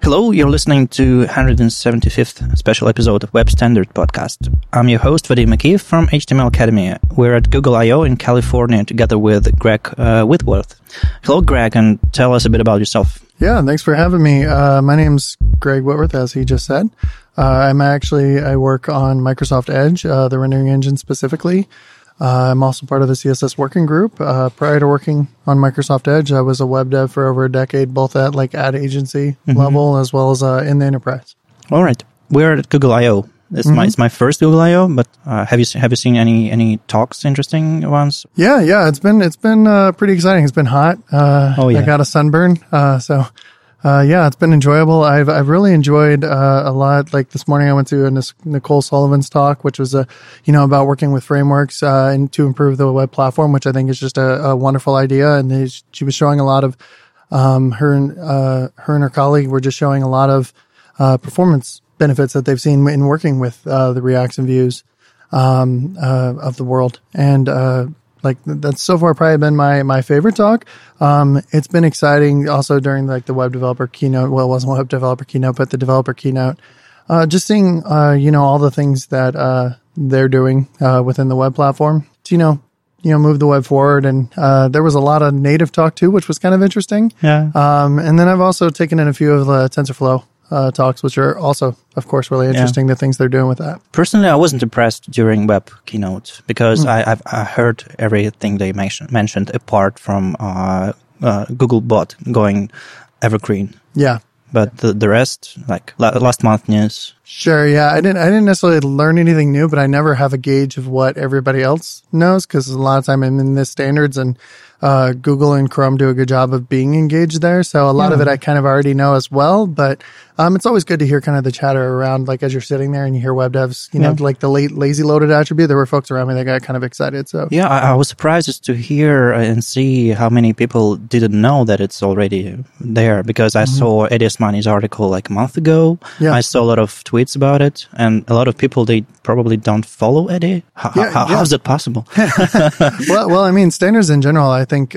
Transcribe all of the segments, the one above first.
Hello, you're listening to 175th special episode of Web Standard Podcast. I'm your host, Vadim Akiv from HTML Academy. We're at Google I/O in California together with Greg Whitworth. Hello, Greg, and tell us a bit about yourself. Yeah, thanks for having me. My name's Greg Whitworth, as he just said. I work on Microsoft Edge, the rendering engine specifically. I'm also part of the CSS working group. Prior to working on Microsoft Edge, I was a web dev for over a decade, both at ad agency level as well as in the enterprise. All right, we're at Google I/O. It's my first Google I/O, but have you seen any talks, interesting ones? Yeah, it's been pretty exciting. It's been hot. I got a sunburn, it's been enjoyable. I've really enjoyed a lot. Like this morning, I went to Nicole Sullivan's talk, which was about working with frameworks and to improve the web platform, which I think is just a wonderful idea. And she was showing a lot of her and her colleague were just showing a lot of performance benefits that they've seen in working with the Reacts and Views of the world. And that's so far probably been my favorite talk. It's been exciting also during the web developer keynote. Well, it wasn't web developer keynote, but the developer keynote. Just seeing, all the things that, they're doing, within the web platform to, move the web forward. And, there was a lot of native talk too, which was kind of interesting. Yeah. And then I've also taken in a few of the TensorFlow talks, which are also, of course, really interesting, the things they're doing with that. Personally, I wasn't impressed during web keynote because I heard everything they mentioned apart from Google Bot going evergreen. Yeah. But the rest, like last month news. Sure, yeah. I didn't necessarily learn anything new, but I never have a gauge of what everybody else knows because a lot of time I'm in the standards and Google and Chrome do a good job of being engaged there. So a lot of it I kind of already know as well, but it's always good to hear kind of the chatter around, like as you're sitting there and you hear web devs, like the lazy loaded attribute. There were folks around me that got kind of excited. So yeah, I was surprised to hear and see how many people didn't know that it's already there because I saw Eddie Osmani's article like a month ago. Yeah. I saw a lot of tweets about it and a lot of people, they probably don't follow Eddie. How is it possible? Well, I mean, standards in general, I think,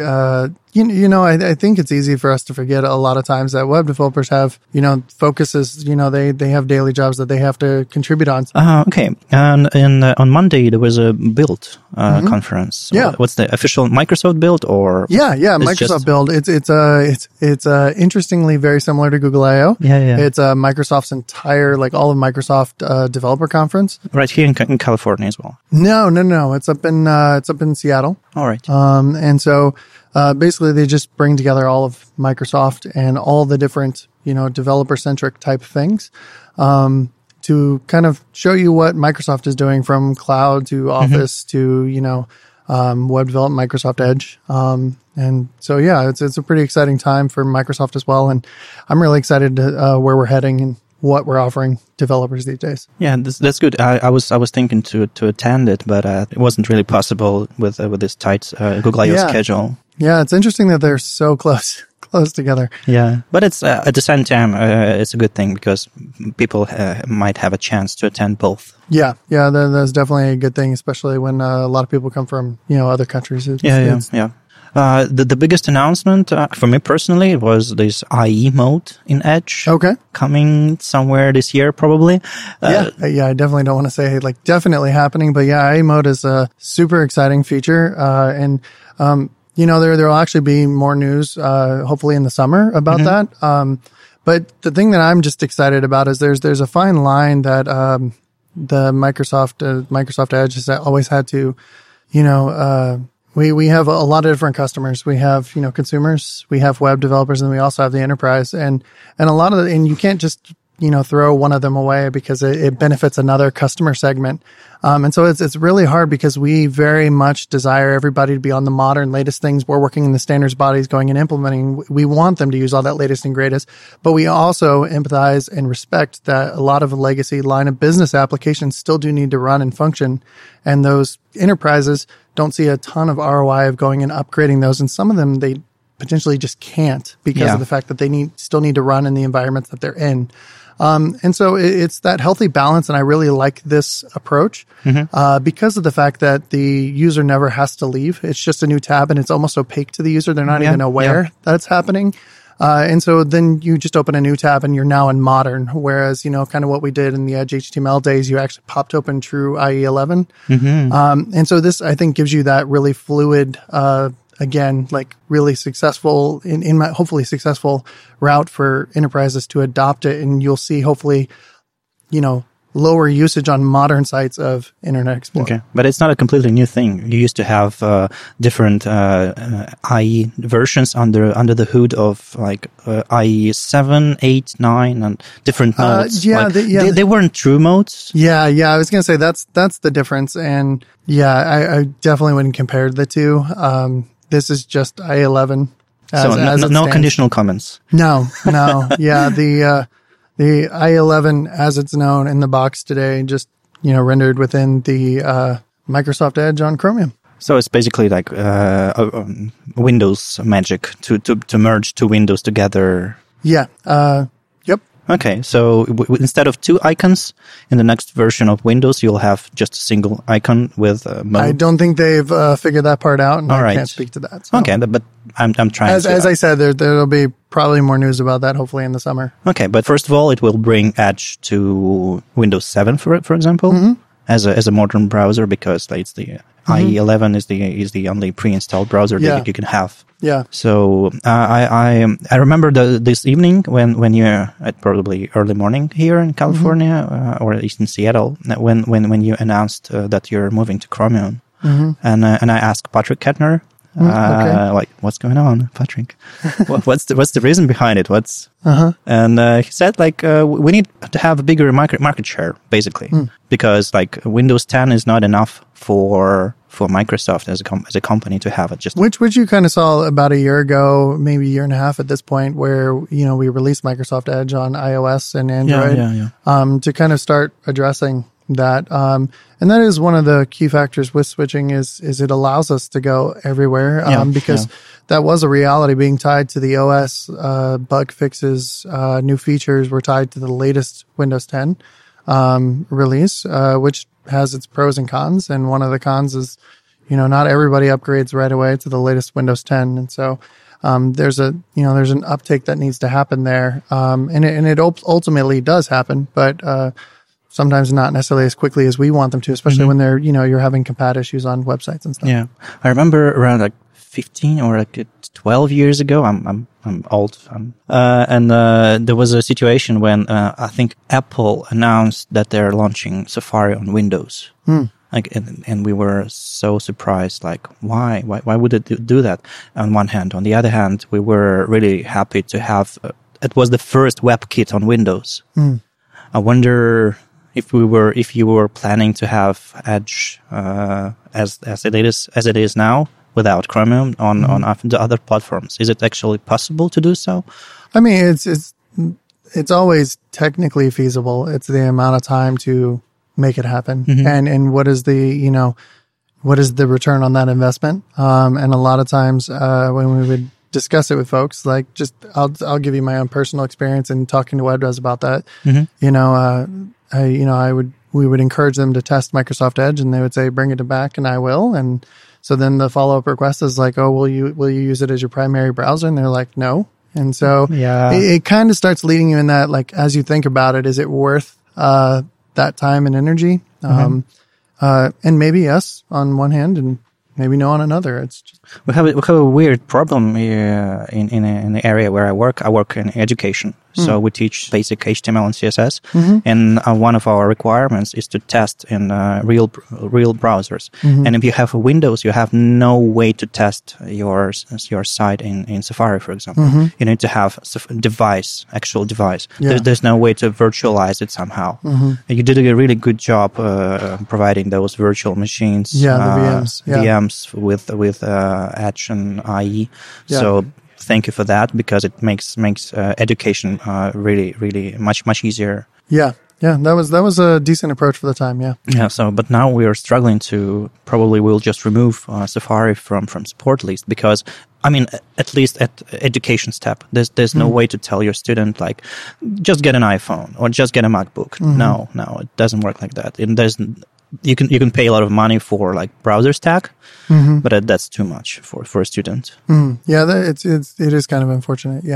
I think it's easy for us to forget a lot of times that web developers have, focuses, they have daily jobs that they have to contribute on. Okay. And on Monday, there was a Build conference. Yeah. What's the official Microsoft Build or? Yeah. Microsoft Build. It's interestingly very similar to Google I/O. Yeah. It's Microsoft's entire, all of Microsoft developer conference. Right here in California as well. No. It's up in Seattle. All right. And so, basically they just bring together all of Microsoft and all the different, developer centric type things, to kind of show you what Microsoft is doing from cloud to Office to, web development, Microsoft Edge. And so, yeah, it's a pretty exciting time for Microsoft as well. And I'm really excited to, where we're heading and what we're offering developers these days. Yeah, that's good. I was thinking to attend it, but it wasn't really possible with this tight Google I/O schedule. Yeah, it's interesting that they're so close together. Yeah, but it's at the same time it's a good thing because people might have a chance to attend both. Yeah, that's definitely a good thing, especially when a lot of people come from other countries. Yeah. The biggest announcement for me personally was this IE mode in Edge. Okay. Coming somewhere this year, probably. I definitely don't want to say definitely happening, but yeah, IE mode is a super exciting feature. There will actually be more news, hopefully in the summer about that. But the thing that I'm just excited about is there's a fine line that, the Microsoft Edge has always had to, we have a lot of different customers. We have, consumers, we have web developers, and we also have the enterprise. And a lot of and you can't just, throw one of them away because it benefits another customer segment. And so it's really hard because we very much desire everybody to be on the modern latest things. We're working in the standards bodies going and implementing. We want them to use all that latest and greatest, but we also empathize and respect that a lot of legacy line of business applications still do need to run and function. And those enterprises don't see a ton of ROI of going and upgrading those. And some of them, they potentially just can't because of the fact that they still need to run in the environments that they're in. And so it's that healthy balance. And I really like this approach, because of the fact that the user never has to leave. It's just a new tab and it's almost opaque to the user. They're not even aware that it's happening. And so then you just open a new tab and you're now in modern. Whereas, kind of what we did in the Edge HTML days, you actually popped open true IE 11. And so this, I think, gives you that really fluid, again, like really successful hopefully successful route for enterprises to adopt it. And you'll see hopefully, lower usage on modern sites of Internet Explorer. Okay, but it's not a completely new thing. You used to have different IE versions under the hood of like IE 7, 8, 9, and different modes. They weren't true modes. Yeah. I was gonna say that's the difference, and I definitely wouldn't compare the two. This is just IE 11. So no conditional comments. No. Yeah, the IE 11, as it's known in the box today, just, rendered within the Microsoft Edge on Chromium. So it's basically like Windows magic to merge two windows together. Yeah. Yep. Okay, so instead of two icons in the next version of Windows, you'll have just a single icon with mode. I don't think they've figured that part out, and I can't speak to that. So. Okay, but I'm trying to... As I said, there'll be probably more news about that, hopefully, in the summer. Okay, but first of all, it will bring Edge to Windows 7, for example, as a modern browser, because it's the IE 11 is the only pre-installed browser that you can have. Yeah. So I remember this evening when you're at probably early morning here in California or at least in Seattle when you announced that you're moving to Chromium, and I asked Patrick Kettner. Like, what's going on, Patrick? What's the reason behind it? And he said, we need to have a bigger market share, basically, because like Windows 10 is not enough for Microsoft as a company to have it. Just which you kind of saw about a year ago, maybe a year and a half at this point, where we released Microsoft Edge on iOS and Android, to kind of start addressing that. And that is one of the key factors with switching is it allows us to go everywhere, because that was a reality being tied to the OS, bug fixes, new features were tied to the latest Windows 10, release, which has its pros and cons. And one of the cons is, not everybody upgrades right away to the latest Windows 10. And so, there's an uptake that needs to happen there. And it ultimately does happen, but, sometimes not necessarily as quickly as we want them to, especially when they're, you're having compat issues on websites and stuff. Yeah. I remember around like 15 or like 12 years ago, I'm old. And there was a situation when, I think Apple announced that they're launching Safari on Windows. And we were so surprised, like, why would it do that on one hand? On the other hand, we were really happy to have, it was the first WebKit on Windows. I wonder if you were planning to have Edge as it is now without Chromium on the other platforms. Is it actually possible to do so? I mean, it's always technically feasible. It's the amount of time to make it happen, and what is the return on that investment? And a lot of times when we would discuss it with folks, like I'll give you my own personal experience in talking to WebDevs about that. We would encourage them to test Microsoft Edge, and they would say, bring it back, and I will. And so then the follow-up request is like, oh, will you use it as your primary browser? And they're like, no. And so it kind of starts leading you in that, like, as you think about it, is it worth that time and energy? And maybe yes on one hand, and maybe no on another. It's just we have a weird problem here in the area where I work. I work in education. So we teach basic HTML and CSS, and one of our requirements is to test in real browsers. And if you have a Windows, you have no way to test your site in Safari, for example. You need to have actual device. There's no way to virtualize it somehow. You did a really good job providing those virtual machines. The VMs. VMs with Edge and IE. So thank you for that, because it makes education really, really much easier. Yeah, that was a decent approach for the time. Yeah. So, but now we are struggling we'll just remove Safari from support list, because I mean, at least at education step, there's no way to tell your student, like, just get an iPhone or just get a MacBook. No, it doesn't work like that. You can pay a lot of money for like browser stack, but that's too much for a student. Yeah, it is kind of unfortunate. Yeah.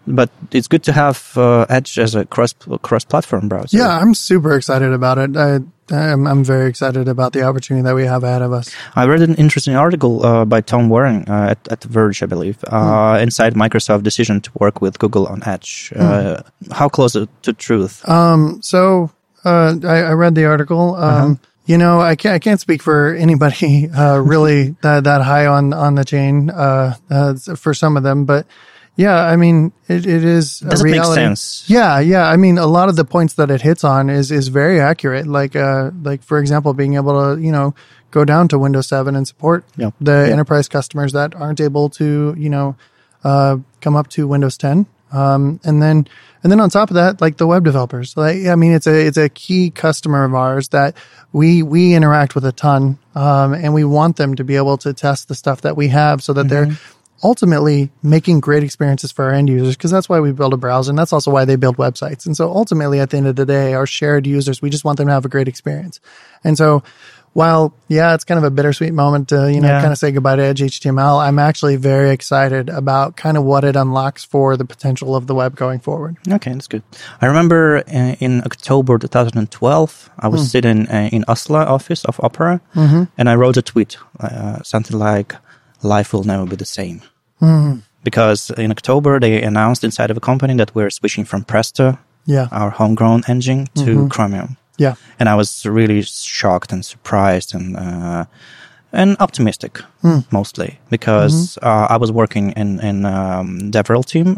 But it's good to have Edge as a cross-platform browser. Yeah, I'm super excited about it. I'm very excited about the opportunity that we have ahead of us. I read an interesting article by Tom Waring at The Verge, I believe, inside Microsoft's decision to work with Google on Edge. How close to truth? So I read the article. You know, I can't speak for anybody really that high on the chain for some of them, but yeah, I mean, it is a reality. Does it make sense? Yeah. I mean, a lot of the points that it hits on is very accurate. Like for example, being able to, go down to Windows 7 and support the enterprise customers that aren't able to, come up to Windows 10. And then on top of that, like the web developers, I mean, it's a key customer of ours that we interact with a ton. And we want them to be able to test the stuff that we have so that they're ultimately making great experiences for our end users, because that's why we build a browser, and that's also why they build websites. And so ultimately, at the end of the day, our shared users, we just want them to have a great experience. And so while, it's kind of a bittersweet moment to, kind of say goodbye to Edge HTML, I'm actually very excited about kind of what it unlocks for the potential of the web going forward. Okay, that's good. I remember in October 2012, I was sitting in Oslo office of Opera, and I wrote a tweet, something like, "Life will never be the same." Because in October, they announced inside of a company that we're switching from Presto, our homegrown engine, to Chromium. Yeah. And I was really shocked and surprised and optimistic, mostly, because I was working in DevRel team,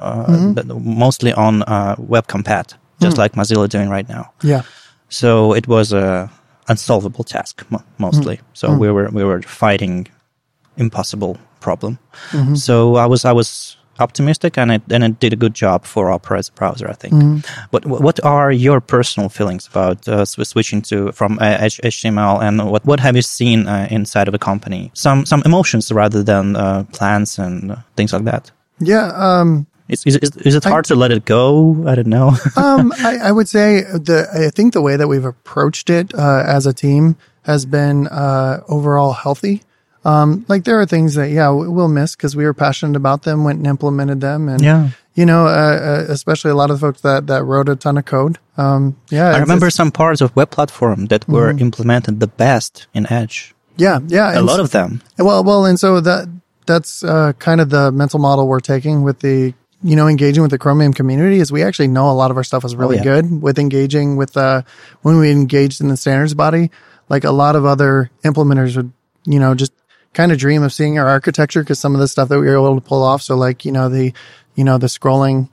mostly on WebCompat, just like Mozilla doing right now. Yeah. So it was a unsolvable task, mostly. So we were fighting impossible problem. So I was optimistic, and it did a good job for Opera as a browser, I think. But what are your personal feelings about switching from HTML, and what have you seen inside of a company? Some emotions rather than plans and things like that. Yeah. Is it hard to let it go? I don't know. I would say I think the way that we've approached it as a team has been overall healthy. Like there are things that, we'll miss because we were passionate about them, went and implemented them. And, especially a lot of the folks that wrote a ton of code. I remember some parts of web platform that were implemented the best in Edge. Yeah. A lot of them. Well, and so that's kind of the mental model we're taking with the, engaging with the Chromium community is we actually know a lot of our stuff is really good with engaging with, when we engaged in the standards body, like a lot of other implementers would, just kind of dream of seeing our architecture because some of the stuff that we were able to pull off. So like, the scrolling,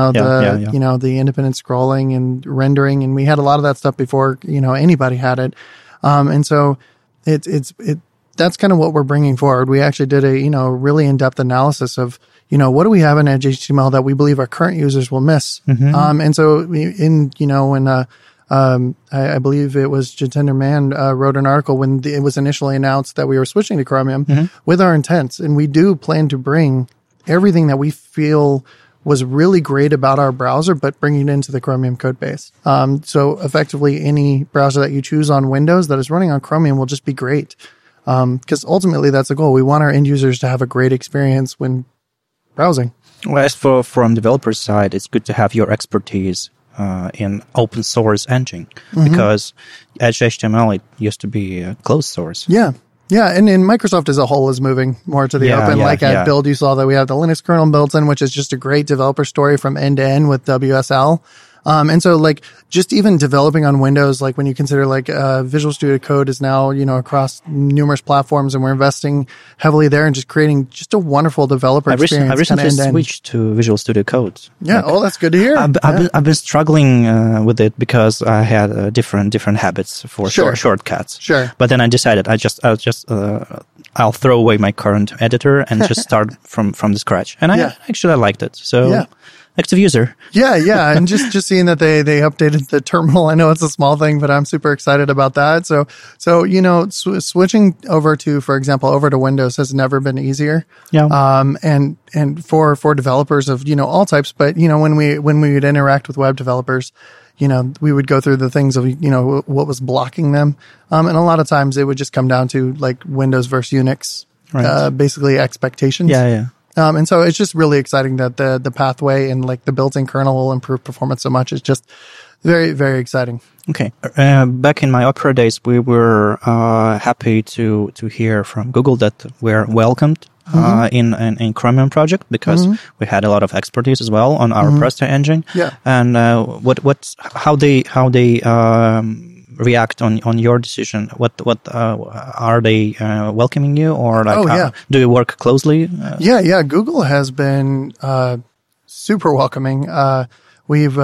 the independent scrolling and rendering. And we had a lot of that stuff before, anybody had it. And so that's kind of what we're bringing forward. We actually did a, really in-depth analysis of, what do we have in Edge HTML that we believe our current users will miss? And so when, I believe it was Jitendra Mann wrote an article when it was initially announced that we were switching to Chromium with our intents. And we do plan to bring everything that we feel was really great about our browser, but bringing it into the Chromium code base. So effectively, any browser that you choose on Windows that is running on Chromium will just be great. Because ultimately, that's the goal. We want our end users to have a great experience when browsing. Well, as from developer side, it's good to have your expertise in open source engine because Edge HTML, it used to be a closed source. Yeah. And Microsoft as a whole is moving more to the open. At Build, you saw that we have the Linux kernel built in, which is just a great developer story from end to end with WSL. And so like just even developing on Windows, like when you consider like Visual Studio Code is now, across numerous platforms, and we're investing heavily there and just creating just a wonderful developer experience. I recently switched to Visual Studio Code. Yeah. That's good to hear. I've been struggling with it because I had different habits for shortcuts. Sure. But then I decided I'll throw away my current editor and just start from the scratch. And I liked it. So active user. Yeah. And just seeing that they updated the terminal. I know it's a small thing, but I'm super excited about that. So switching over to Windows has never been easier. Yeah. And for developers of, all types, but, when we would interact with web developers, we would go through the things of, what was blocking them. And a lot of times it would just come down to like Windows versus Unix, basically expectations. Yeah. And so it's just really exciting that the pathway and like the built-in kernel will improve performance so much. It's just very, very exciting. Okay. Back in my Opera days, we were happy to hear from Google that we're welcomed in Chromium project because we had a lot of expertise as well on our Presto engine. Yeah. And how they react on your decision? What are they welcoming you, or like do you work closely? Yeah. Google has been super welcoming. We've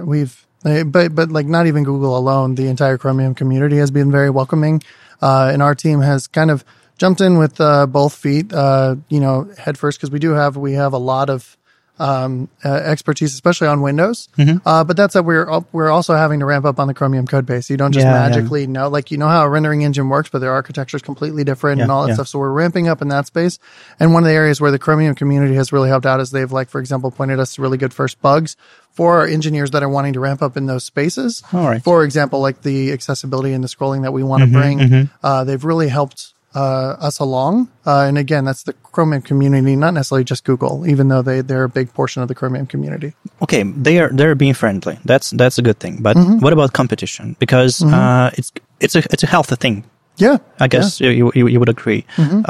but like not even Google alone, the entire Chromium community has been very welcoming, and our team has kind of jumped in with both feet, head first, because we have a lot of expertise, especially on Windows. But that's we're also having to ramp up on the Chromium code base. You don't just magically know, like, you know how a rendering engine works, but their architecture is completely different and all that stuff. So we're ramping up in that space. And one of the areas where the Chromium community has really helped out is they've, like, for example, pointed us to really good first bugs for our engineers that are wanting to ramp up in those spaces. All right. For example, like the accessibility and the scrolling that we want to bring. They've really helped us along. And again, that's the Chromium community, not necessarily just Google, even though they're a big portion of the Chromium community. Okay, they're being friendly. That's a good thing. But what about competition? Because it's a healthy thing. Yeah, I guess you would agree.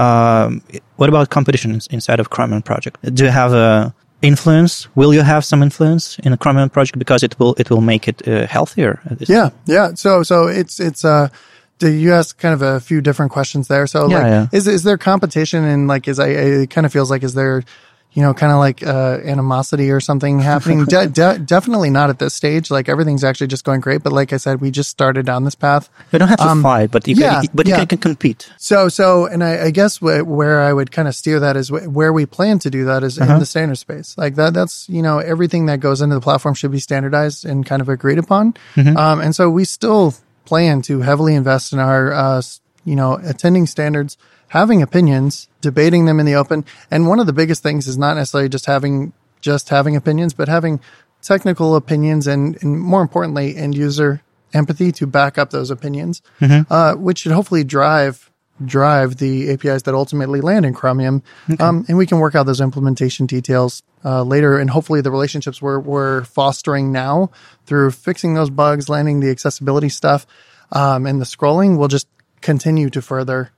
What about competition inside of Chromium project? Do you have a influence? Will you have some influence in a Chromium project because it will make it healthier? Yeah. So it's you asked kind of a few different questions there. So is there competition, and like it kind of feels like, is there, kind of like animosity or something happening? Definitely not at this stage. Like, everything's actually just going great. But like I said, we just started down this path. You don't have to fight, but you can compete. So, and I guess where I would kind of steer that is where we plan to do that is in the standard space. Like that's, everything that goes into the platform should be standardized and kind of agreed upon. And so we still plan to heavily invest in our, attending standards, having opinions, debating them in the open. And one of the biggest things is not necessarily just having opinions, but having technical opinions and more importantly, end user empathy to back up those opinions, which should hopefully drive the APIs that ultimately land in Chromium. And we can work out those implementation details later. And hopefully the relationships we're fostering now through fixing those bugs, landing the accessibility stuff, and the scrolling will just continue to further,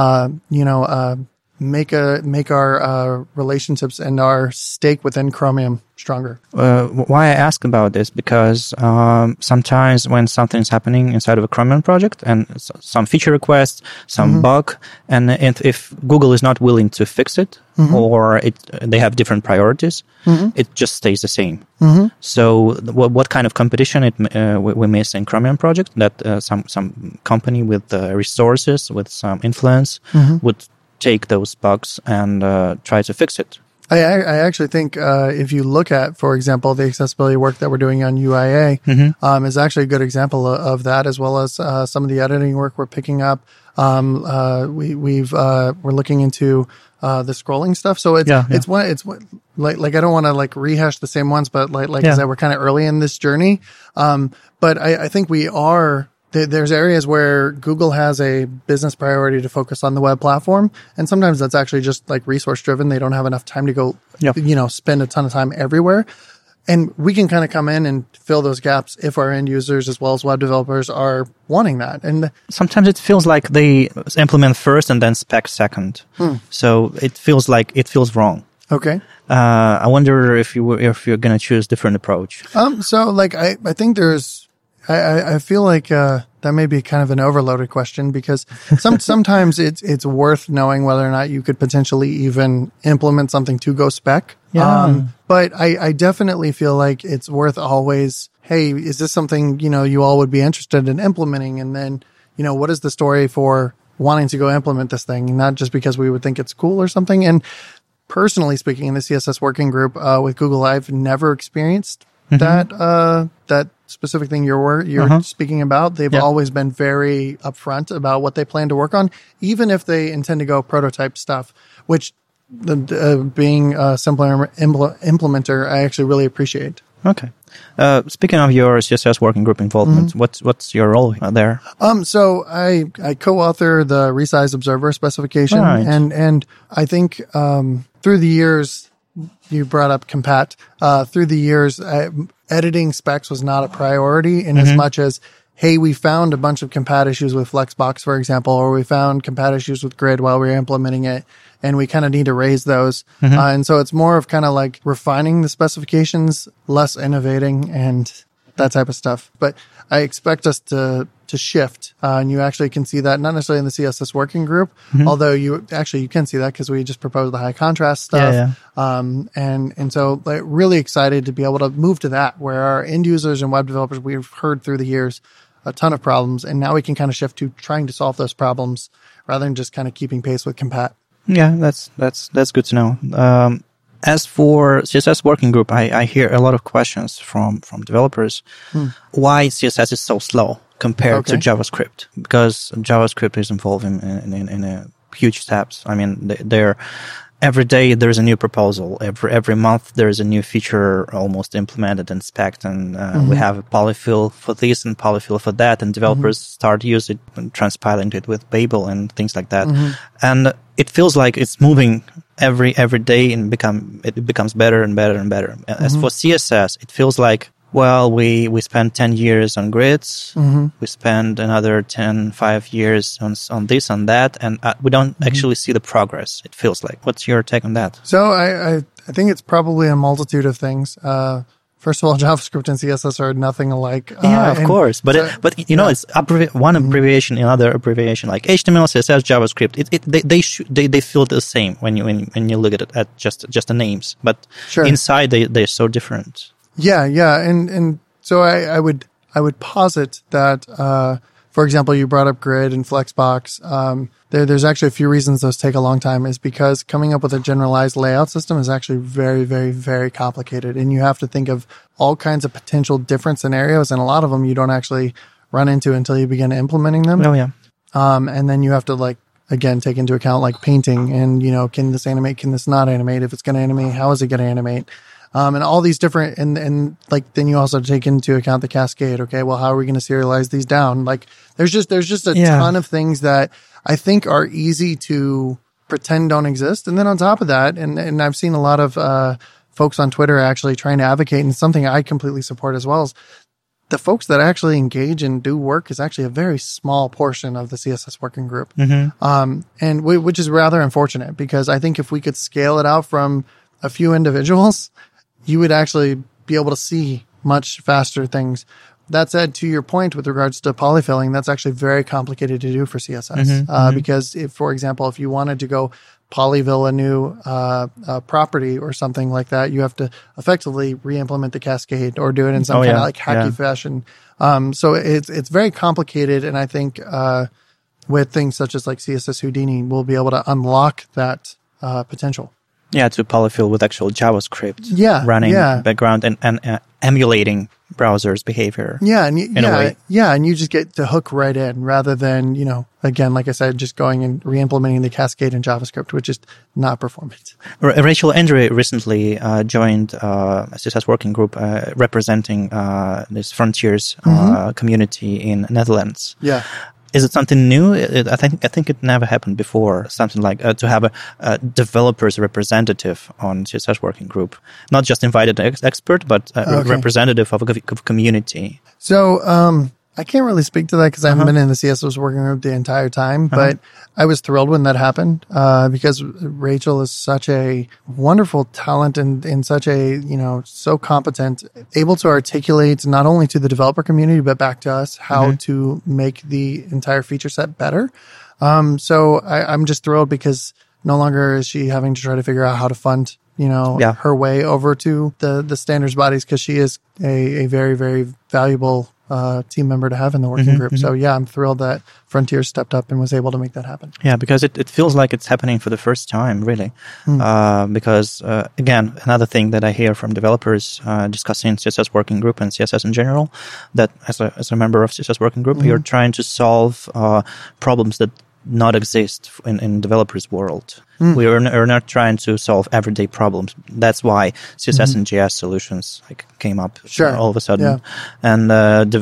make our relationships and our stake within Chromium stronger. Why I ask about this, because sometimes when something's happening inside of a Chromium project and some feature request, some bug, and if Google is not willing to fix it, or they have different priorities, it just stays the same. So what kind of competition we miss in Chromium project, that some company with resources, with some influence would take those bugs and try to fix it? I actually think if you look at, for example, the accessibility work that we're doing on UIA, is actually a good example of that, as well as some of the editing work we're picking up. We're looking into the scrolling stuff. So it's I don't want to like rehash the same ones, but like I said, we're kind of early in this journey. But I think we are. There's areas where Google has a business priority to focus on the web platform. And sometimes that's actually just like resource driven. They don't have enough time to go, spend a ton of time everywhere. And we can kind of come in and fill those gaps if our end users as well as web developers are wanting that. And sometimes it feels like they implement first and then spec second. So it feels wrong. Okay. I wonder if you're going to choose a different approach. So like, I think I feel like that may be kind of an overloaded question, because sometimes it's worth knowing whether or not you could potentially even implement something to go spec. But I definitely feel like it's worth always, hey, is this something, you all would be interested in implementing? And then, what is the story for wanting to go implement this thing? Not just because we would think it's cool or something. And personally speaking, in the CSS working group with Google, I've never experienced that specific thing you're speaking about. They've always been very upfront about what they plan to work on, even if they intend to go prototype stuff, which being a simpler implementer, I actually really appreciate. Okay. Speaking of your CSS working group involvement, what's your role there? So I co-author the Resize Observer specification, and I think through the years, you brought up Compat. Through the years, editing specs was not a priority in as much as, hey, we found a bunch of Compat issues with Flexbox, for example, or we found Compat issues with Grid while we were implementing it, and we kind of need to raise those. And so it's more of kind of like refining the specifications, less innovating and that type of stuff. But I expect us to shift, and you actually can see that not necessarily in the CSS working group, although you can see that because we just proposed the high contrast stuff. And so like, really excited to be able to move to that, where our end users and web developers, we've heard through the years a ton of problems, and now we can kind of shift to trying to solve those problems rather than just kind of keeping pace with Compat. Yeah, that's good to know. As for CSS working group, I hear a lot of questions from developers. Why CSS is so slow compared to JavaScript? Because JavaScript is involved in a huge steps. I mean, every day there's a new proposal. Every month there's a new feature almost implemented and spec'd, and we have a polyfill for this and polyfill for that, and developers start using it and transpiling it with Babel and things like that. And it feels like it's moving every day, and it becomes better and better and better. As for CSS, it feels like, well, we spent 10 years on grids. We spend another 5 years on this, on that, and we don't actually see the progress, it feels like. What's your take on that? So I think it's probably a multitude of things. First of all, JavaScript and CSS are nothing alike. Of course. But it's one abbreviation, another abbreviation, like HTML, CSS, JavaScript. They feel the same when you look at it at just the names. But inside they're so different. Yeah. And so I would posit that, for example, you brought up Grid and Flexbox. There's actually a few reasons those take a long time, is because coming up with a generalized layout system is actually very, very, very complicated. And you have to think of all kinds of potential different scenarios. And a lot of them you don't actually run into until you begin implementing them. Oh, yeah. And then you have to again, take into account painting and, can this animate? Can this not animate? If it's going to animate, how is it going to animate? And all these different, and then you also take into account the cascade. Okay, well, how are we going to serialize these down? There's just a ton of things that I think are easy to pretend don't exist. And then on top of that, and I've seen a lot of folks on Twitter actually trying to advocate, and something I completely support as well, is the folks that actually engage and do work is actually a very small portion of the CSS working group. And which is rather unfortunate, because I think if we could scale it out from a few individuals, you would actually be able to see much faster things. That said, to your point with regards to polyfilling, that's actually very complicated to do for CSS. Because if, for example, if you wanted to go polyfill a new property or something like that, you have to effectively re-implement the cascade or do it in some kind of hacky fashion. So it's very complicated, and I think with things such as CSS Houdini, we'll be able to unlock that potential. Yeah, to polyfill with actual JavaScript running background and emulating browser's behavior. Yeah, and you just get to hook right in rather than, again, like I said, just going and re-implementing the cascade in JavaScript, which is not performant. Rachel Andre recently joined a CSS working group representing this Frontiers community in Netherlands. Yeah. Is it something new? I think it never happened before. Something like to have a developer's representative on CSS working group, not just invited expert, but representative of a community. So I can't really speak to that because I haven't been in the CSS working group the entire time, but I was thrilled when that happened because Rachel is such a wonderful talent and such a, so competent, able to articulate not only to the developer community, but back to us how to make the entire feature set better. So I'm just thrilled because no longer is she having to try to figure out how to fund her way over to the standards bodies, because she is a very, very valuable team member to have in the working group. So I'm thrilled that Frontier stepped up and was able to make that happen. Yeah, because it feels like it's happening for the first time, really. Because again, another thing that I hear from developers discussing CSS working group and CSS in general, that as a member of CSS working group, you're trying to solve problems that not exist in developers' world. We are not trying to solve everyday problems. That's why CSS and JS solutions came up all of a sudden, and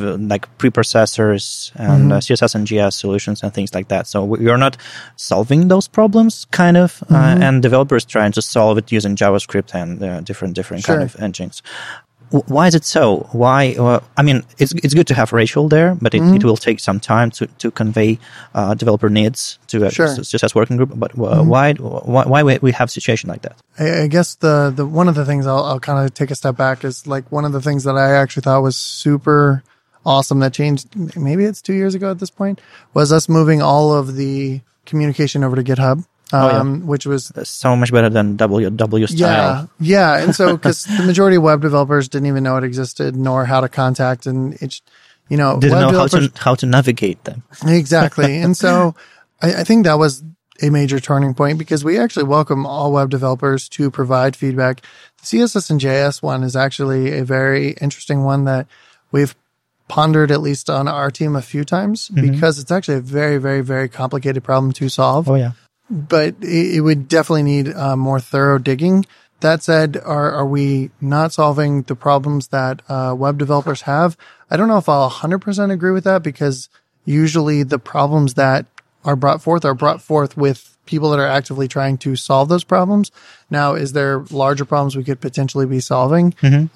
preprocessors and CSS and JS solutions and things like that. So we are not solving those problems, kind of, and developers trying to solve it using JavaScript and different kind of engines. Why is it so? Why? I mean, it's good to have Rachel there, but it will take some time to convey developer needs to a CSS working group. But why we have a situation like that? I guess the one of the things I'll kind of take a step back is like one of the things that I actually thought was super awesome that changed. Maybe it's 2 years ago at this point, was us moving all of the communication over to GitHub. Which was so much better than WW style. Yeah. And so, because the majority of web developers didn't even know it existed, nor how to contact, and it's, didn't know how to navigate them. Exactly. And so, I think that was a major turning point, because we actually welcome all web developers to provide feedback. The CSS and JS one is actually a very interesting one that we've pondered, at least on our team, a few times, because it's actually a very, very, very complicated problem to solve. Oh, yeah. But it would definitely need more thorough digging. That said, are we not solving the problems that web developers have? I don't know if I'll 100% agree with that, because usually the problems that are brought forth with people that are actively trying to solve those problems. Now, is there larger problems we could potentially be solving?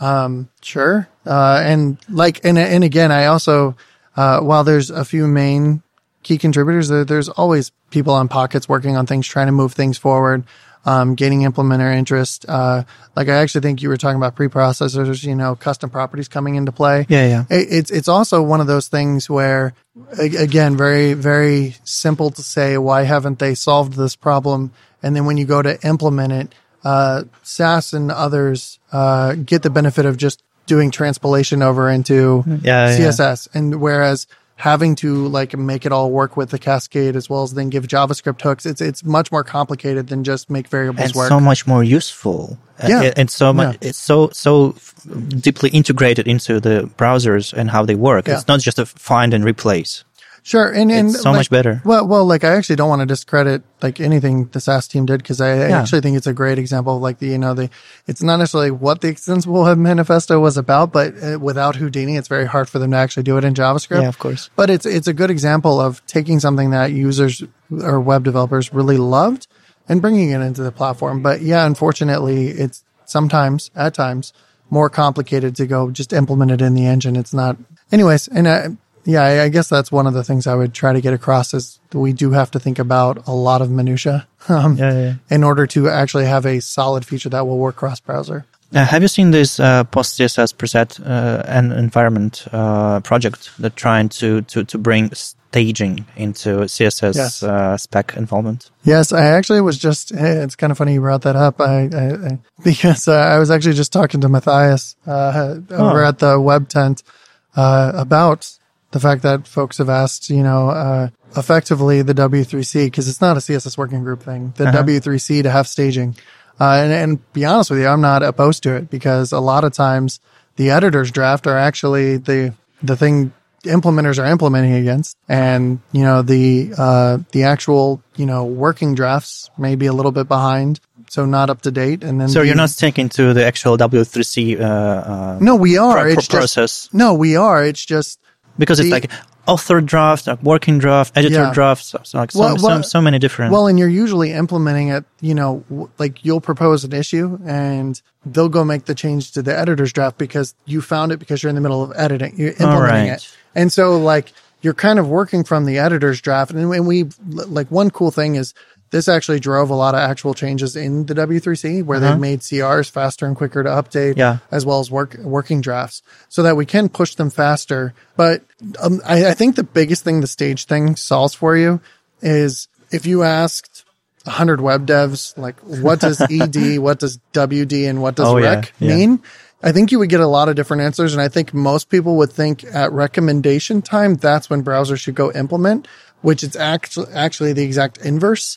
Sure. And again, I also, while there's a few main key contributors, there's always people on Pockets working on things, trying to move things forward, gaining implementer interest. I actually think you were talking about preprocessors, custom properties coming into play. Yeah. It's also one of those things where, again, very, very simple to say, why haven't they solved this problem? And then when you go to implement it, SAS and others get the benefit of just doing transpilation over into CSS. And whereas having to make it all work with the Cascade, as well as then give JavaScript hooks, it's much more complicated than just make variables work. And so much more useful. It's so deeply integrated into the browsers and how they work. It's not just a find and replace. Sure, and it's so much better. Well, I actually don't want to discredit anything the SAS team did, because I actually think it's a great example of it's not necessarily what the Extensible Web Manifesto was about, but without Houdini, it's very hard for them to actually do it in JavaScript. Yeah, of course. But it's a good example of taking something that users or web developers really loved and bringing it into the platform. But yeah, unfortunately, it's at times, more complicated to go just implement it in the engine. It's not. Anyways, and I guess that's one of the things I would try to get across, is we do have to think about a lot of minutia in order to actually have a solid feature that will work cross-browser. Have you seen this post-CSS preset and environment project that trying to bring staging into CSS spec involvement? Yes, I actually was just, it's kind of funny you brought that up, because I was actually just talking to Matthias over at the Web Tent about the fact that folks have asked, effectively the W3C, because it's not a CSS working group thing, the W3C to have staging. And be honest with you, I'm not opposed to it, because a lot of times the editor's draft are actually the thing implementers are implementing against. And, the actual, working drafts may be a little bit behind, so not up to date. And then you're not sticking to the actual W3C no, we are. process. We are. It's just because it's author draft, working draft, editor draft, so many different. Well, and you're usually implementing it, you'll propose an issue and they'll go make the change to the editor's draft because you found it, because you're in the middle of editing, you're implementing it. And so you're kind of working from the editor's draft. And we, one cool thing is this actually drove a lot of actual changes in the W3C, where they've made CRs faster and quicker to update, as well as working drafts, so that we can push them faster. But I think the biggest thing the stage thing solves for you is, if you asked 100 web devs, what does ED, what does WD, and what does rec mean? I think you would get a lot of different answers. And I think most people would think at recommendation time, that's when browsers should go implement, which is actually the exact inverse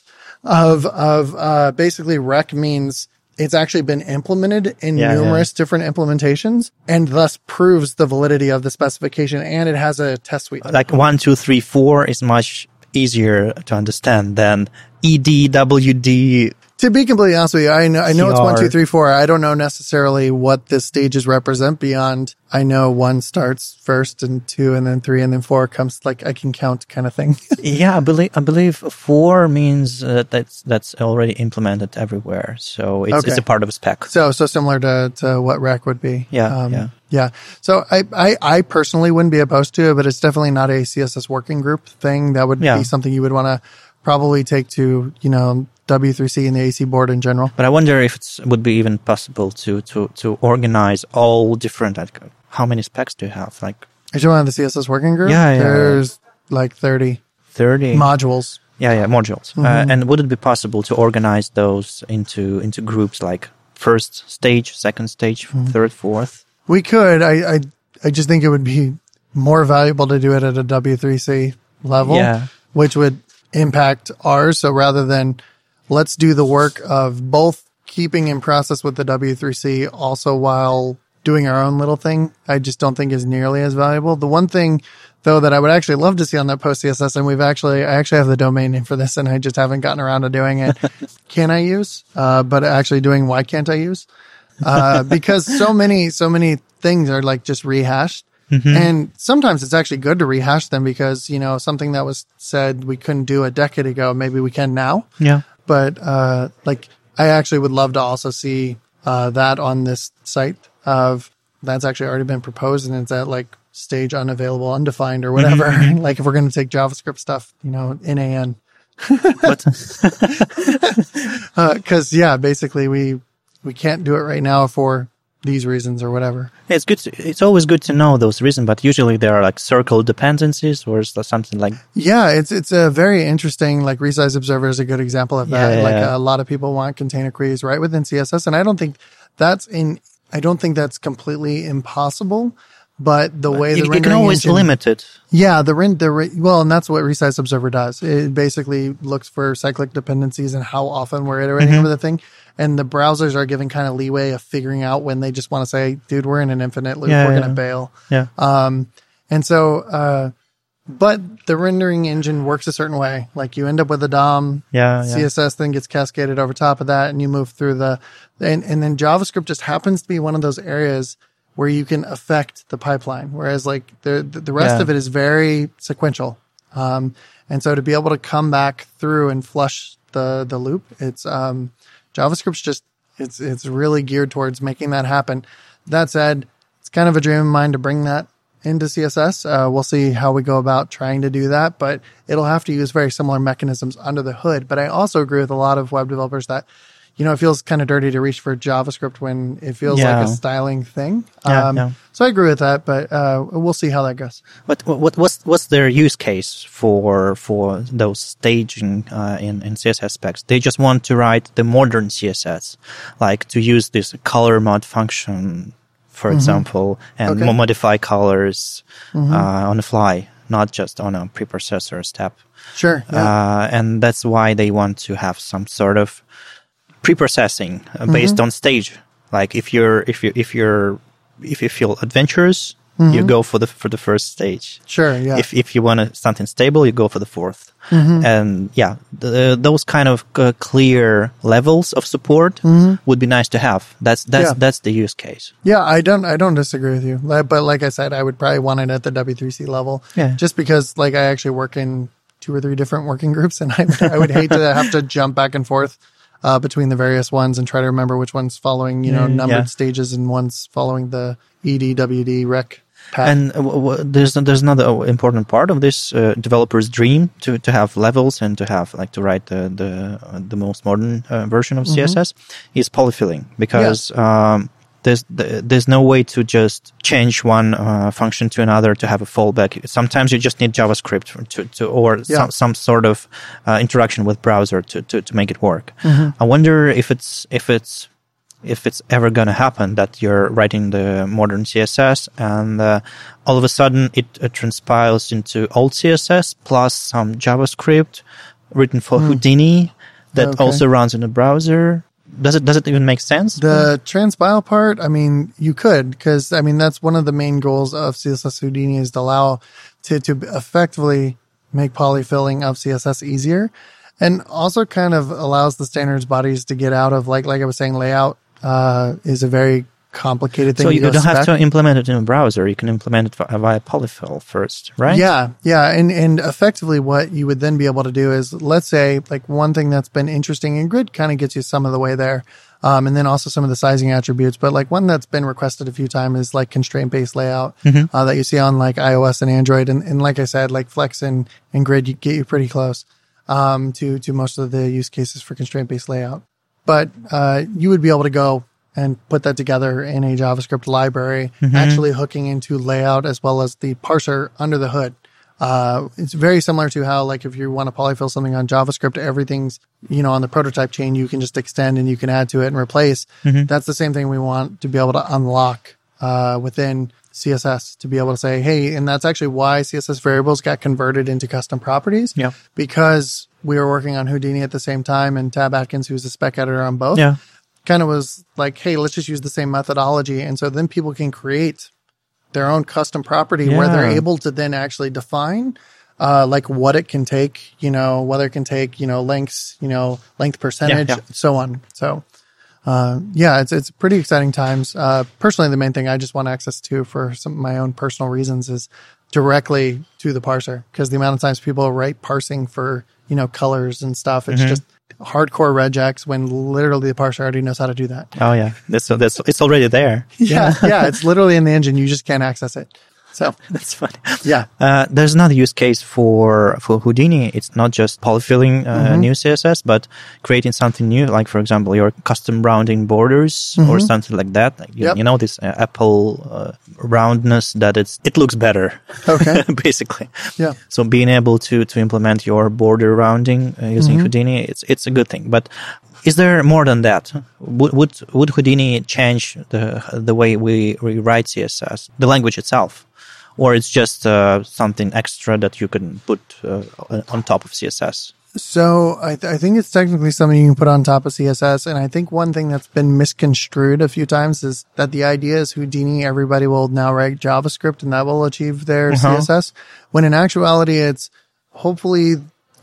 of basically rec means it's actually been implemented in numerous different implementations, and thus proves the validity of the specification, and it has a test suite. 1, 2, 3, 4 is much easier to understand than EDWD. To be completely honest with you, I know it's 1, 2, 3, 4. I don't know necessarily what the stages represent beyond. I know 1 starts first and 2 and then 3 and then 4 comes like I can count kind of thing. Yeah, I believe 4 means that's already implemented everywhere. So it's a part of a spec. So similar to what REC would be. Yeah. Yeah. So I personally wouldn't be opposed to it, but it's definitely not a CSS working group thing. That would be something you would want to probably take to, W3C and the AC board in general. But I wonder if it would be even possible to organize all different, how many specs do you have? Like, are you talking about the CSS working group? Yeah. There's like 30 modules. Yeah, modules. Mm-hmm. And would it be possible to organize those into groups like first stage, second stage, third, fourth? We could. I just think it would be more valuable to do it at a W3C level, which would impact ours. So rather than let's do the work of both keeping in process with the W3C also while doing our own little thing, I just don't think is nearly as valuable. The one thing, though, that I would actually love to see on that post CSS, and I actually have the domain name for this, and I just haven't gotten around to doing it. Can I use? But actually doing why can't I use? Because so many things are like just rehashed. Mm-hmm. And sometimes it's actually good to rehash them because, something that was said we couldn't do a decade ago, maybe we can now. Yeah. But, I actually would love to also see, that on this site that's actually already been proposed and it's at like stage unavailable, undefined or whatever. Mm-hmm. Like if we're going to take JavaScript stuff, NaN. Cause basically we can't do it right now for these reasons or whatever. It's good. It's always good to know those reasons, but usually there are like circle dependencies or something like. Yeah, it's a very interesting. Like Resize Observer is a good example of that. A lot of people want container queries right within CSS, and I don't think that's completely impossible. But the way the rendering you can always limit it. Yeah, and that's what Resize Observer does. It basically looks for cyclic dependencies and how often we're iterating over the thing. And the browsers are given kind of leeway of figuring out when they just want to say, dude, we're in an infinite loop. We're going to bail. Yeah. But the rendering engine works a certain way. Like you end up with a DOM. CSS then gets cascaded over top of that and you move through and then JavaScript just happens to be one of those areas where you can affect the pipeline. Whereas like the rest of it is very sequential. And so to be able to come back through and flush the loop, it's, JavaScript's it's really geared towards making that happen. That said, it's kind of a dream of mine to bring that into CSS. We'll see how we go about trying to do that, but it'll have to use very similar mechanisms under the hood. But I also agree with a lot of web developers that, it feels kind of dirty to reach for JavaScript when it feels like a styling thing. So I agree with that, but we'll see how that goes. What's their use case for those staging in CSS specs? They just want to write the modern CSS, like to use this color mod function, for example, and modify colors on the fly, not just on a preprocessor step. Sure. Yeah. And that's why they want to have some sort of pre-processing based on stage. Like if you feel adventurous, you go for the first stage. Sure, yeah. If you want something stable, you go for the fourth. And those kind of clear levels of support would be nice to have. That's the use case. Yeah, I don't disagree with you. But like I said, I would probably want it at the W3C level. Yeah. Just because like I actually work in 2 or 3 different working groups, and I would hate to have to jump back and forth between the various ones and try to remember which one's following, numbered stages and one's following the EDWD rec path. And there's another important part of this developer's dream to have levels and to have to write the most modern version of CSS is polyfilling, because there's no way to just change one function to another to have a fallback. Sometimes you just need JavaScript or some sort of interaction with browser to make it work. I wonder if it's ever going to happen that you're writing the modern CSS and all of a sudden it transpiles into old CSS plus some JavaScript written for Houdini that also runs in the browser. Does it even make sense? The transpile part, I mean, you could, because that's one of the main goals of CSS Houdini is to allow to effectively make polyfilling of CSS easier, and also kind of allows the standards bodies to get out of like I was saying, layout is a very complicated thing. So you don't have to implement it in a browser. You can implement it via polyfill first, right? Yeah. And effectively what you would then be able to do is, let's say, like one thing that's been interesting, and Grid kind of gets you some of the way there, and then also some of the sizing attributes. But like one that's been requested a few times is like constraint-based layout that you see on like iOS and Android. And like I said, like Flex and Grid get you pretty close to most of the use cases for constraint-based layout. But you would be able to go and put that together in a JavaScript library, actually hooking into layout as well as the parser under the hood. It's very similar to how, like, if you want to polyfill something on JavaScript, everything's, on the prototype chain, you can just extend and you can add to it and replace. That's the same thing we want to be able to unlock within CSS, to be able to say, hey, and that's actually why CSS variables got converted into custom properties. Yeah. Because we were working on Houdini at the same time, and Tab Atkins, who's a spec editor on both, kind of was like, hey, let's just use the same methodology. And so then people can create their own custom property where they're able to then actually define like what it can take, whether it can take, lengths, length percentage, so on. So it's pretty exciting times. Personally, the main thing I just want access to for some of my own personal reasons is directly to the parser, because the amount of times people write parsing for, colors and stuff, it's just hardcore regex when literally the parser already knows how to do that. Oh yeah, that's it's already there. Yeah, it's literally in the engine. You just can't access it. So that's funny. Yeah. There's another use case for Houdini. It's not just polyfilling new CSS, but creating something new, like, for example, your custom rounding borders or something like that. Like, you know, this Apple roundness that it looks better. Okay. Basically. Yeah. So being able to implement your border rounding using Houdini, it's a good thing. But is there more than that? Would Houdini change the way we write CSS, the language itself? Or it's just something extra that you can put on top of CSS? So I think it's technically something you can put on top of CSS. And I think one thing that's been misconstrued a few times is that the idea is Houdini, everybody will now write JavaScript and that will achieve their CSS. When in actuality, it's hopefully,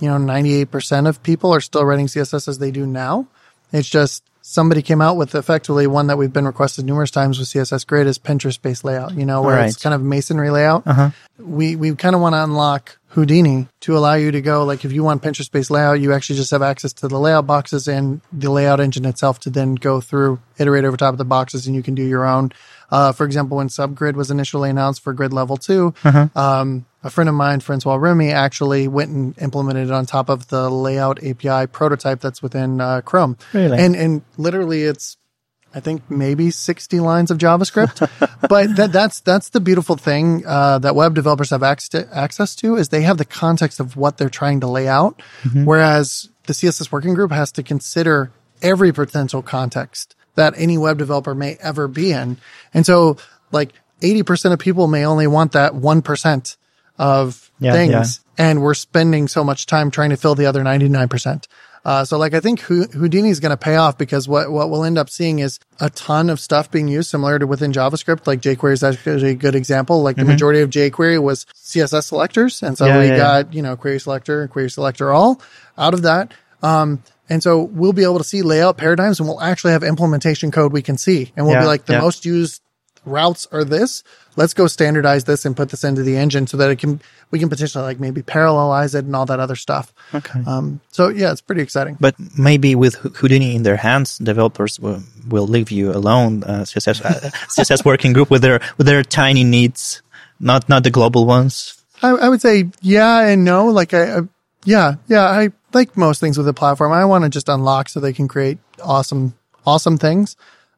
98% of people are still writing CSS as they do now. It's just somebody came out with effectively one that we've been requested numerous times with CSS Grid is Pinterest-based layout, where it's kind of masonry layout. We kind of want to unlock Houdini to allow you to go, like, if you want Pinterest-based layout, you actually just have access to the layout boxes and the layout engine itself to then go through, iterate over top of the boxes, and you can do your own. For example, when Subgrid was initially announced for Grid Level 2, a friend of mine, Francois Remy, actually went and implemented it on top of the layout API prototype that's within Chrome. Really? And literally it's, I think, maybe 60 lines of JavaScript. But that's the beautiful thing that web developers have access to, is they have the context of what they're trying to lay out, whereas the CSS working group has to consider every potential context that any web developer may ever be in. And so, like, 80% of people may only want that 1% of things, and we're spending so much time trying to fill the other 99%. So, like, I think Houdini is going to pay off, because what we'll end up seeing is a ton of stuff being used similar to within JavaScript. Like, jQuery is actually a good example. Like, the majority of jQuery was CSS selectors. And so we got, query selector all out of that. And so we'll be able to see layout paradigms, and we'll actually have implementation code we can see. And we'll be like, the most used routes are this. Let's go standardize this and put this into the engine so that we can potentially, like, maybe parallelize it and all that other stuff. Okay. So yeah, it's pretty exciting. But maybe with Houdini in their hands, developers will leave you alone, CSS working group with their tiny needs, not the global ones. I would say yeah and no. Like I like most things with the platform, I want to just unlock so they can create awesome things.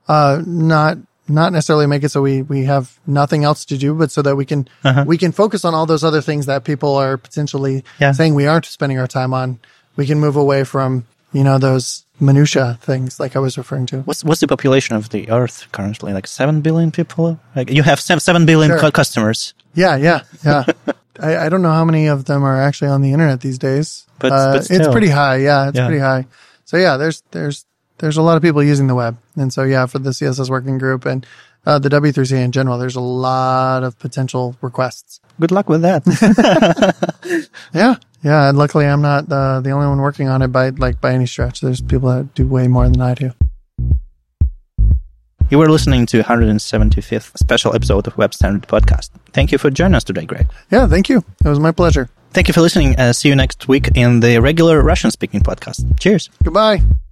Not necessarily make it so we have nothing else to do, but so that we can focus on all those other things that people are potentially saying we aren't spending our time on. We can move away from, those minutia things like I was referring to. What's the population of the Earth currently? Like 7 billion people? Like, you have 7 billion customers. Yeah. I don't know how many of them are actually on the internet these days. But still. It's pretty high. Yeah, it's pretty high. So yeah, there's a lot of people using the web. And so yeah, for the CSS working group, and the W3C in general, there's a lot of potential requests. Good luck with that. Yeah. And luckily, I'm not the only one working on it by any stretch. There's people that do way more than I do. You were listening to 175th special episode of Web Standard Podcast. Thank you for joining us today, Greg. Yeah, thank you. It was my pleasure. Thank you for listening. See you next week in the regular Russian-speaking podcast. Cheers. Goodbye.